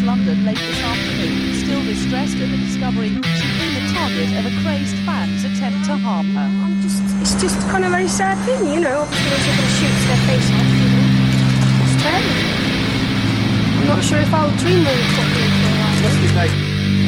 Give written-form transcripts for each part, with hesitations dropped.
West London late this afternoon, still distressed at the discovery she'd been the target of a crazed fan's attempt to harm her. It's just kind of a very sad thing, you know. Obviously, they're going to shoot their face off, you know. It's terrible. I'm not sure if I'll dream very properly for a while. What's his name?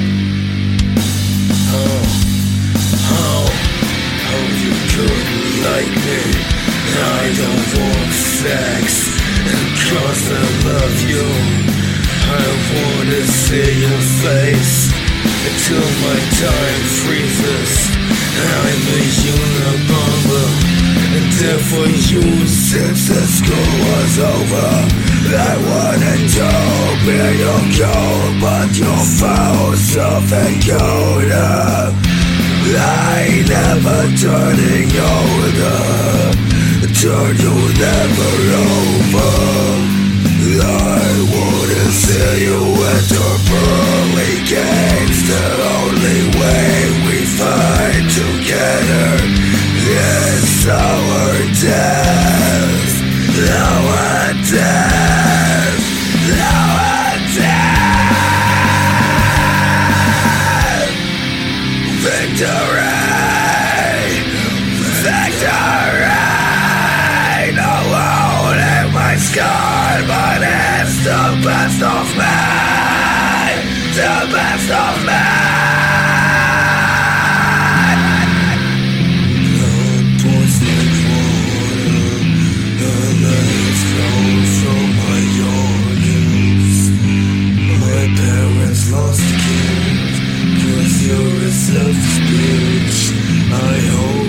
How you could like me? I don't want sex, and 'cause I love you, I wanna see your face until my time freezes. I'm a Unabomber, and therefore you, since the school was over, I wanna be your goal, but you're foul, something colder. I never turning older, turn you never over. I wanna see you enter pearly gates. The only way we fight together is our death. Our death. Our death. Victory! Victory! No hole in my skull, but it's the best of me! The best of me! Blood pours like water, and it's flows from my organs. My parents lost a kid, 'cause you're a selfish bitch. I hope